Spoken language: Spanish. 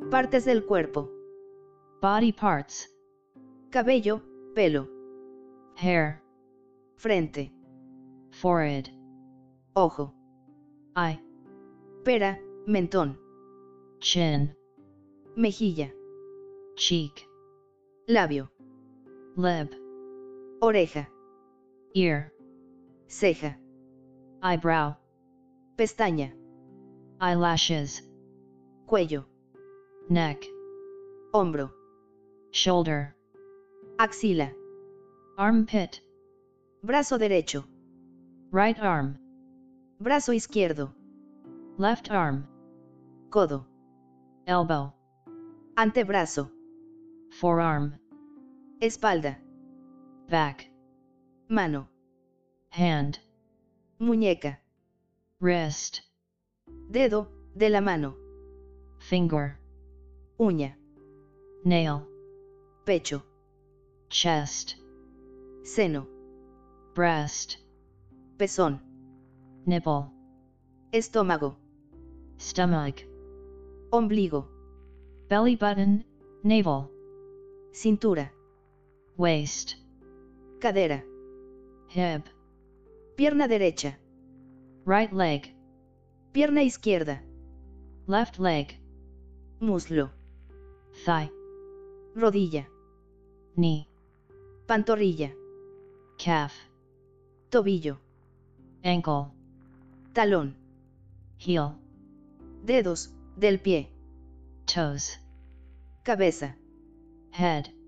Partes del cuerpo. Body parts. Cabello, pelo. Hair. Frente. Forehead. Ojo. Eye. Pera, mentón. Chin. Mejilla. Cheek. Labio. Lip. Oreja. Ear. Ceja. Eyebrow. Pestaña. Eyelashes. Cuello. Neck. Hombro. Shoulder. Axila. Armpit. Brazo derecho. Right arm. Brazo izquierdo. Left arm. Codo. Elbow. Antebrazo. Forearm. Espalda. Back. Mano. Hand. Muñeca. Wrist. Dedo, de la mano. Finger. Uña. Nail. Pecho. Chest. Seno. Breast. Pezón. Nipple. Estómago. Stomach. Ombligo. Belly button. Navel. Cintura. Waist. Cadera. Hip. Pierna derecha. Right leg. Pierna izquierda. Left leg. Muslo. Thigh. Rodilla. Knee. Pantorrilla. Calf. Tobillo. Ankle. Talón. Heel. Dedos, del pie. Toes. Cabeza. Head.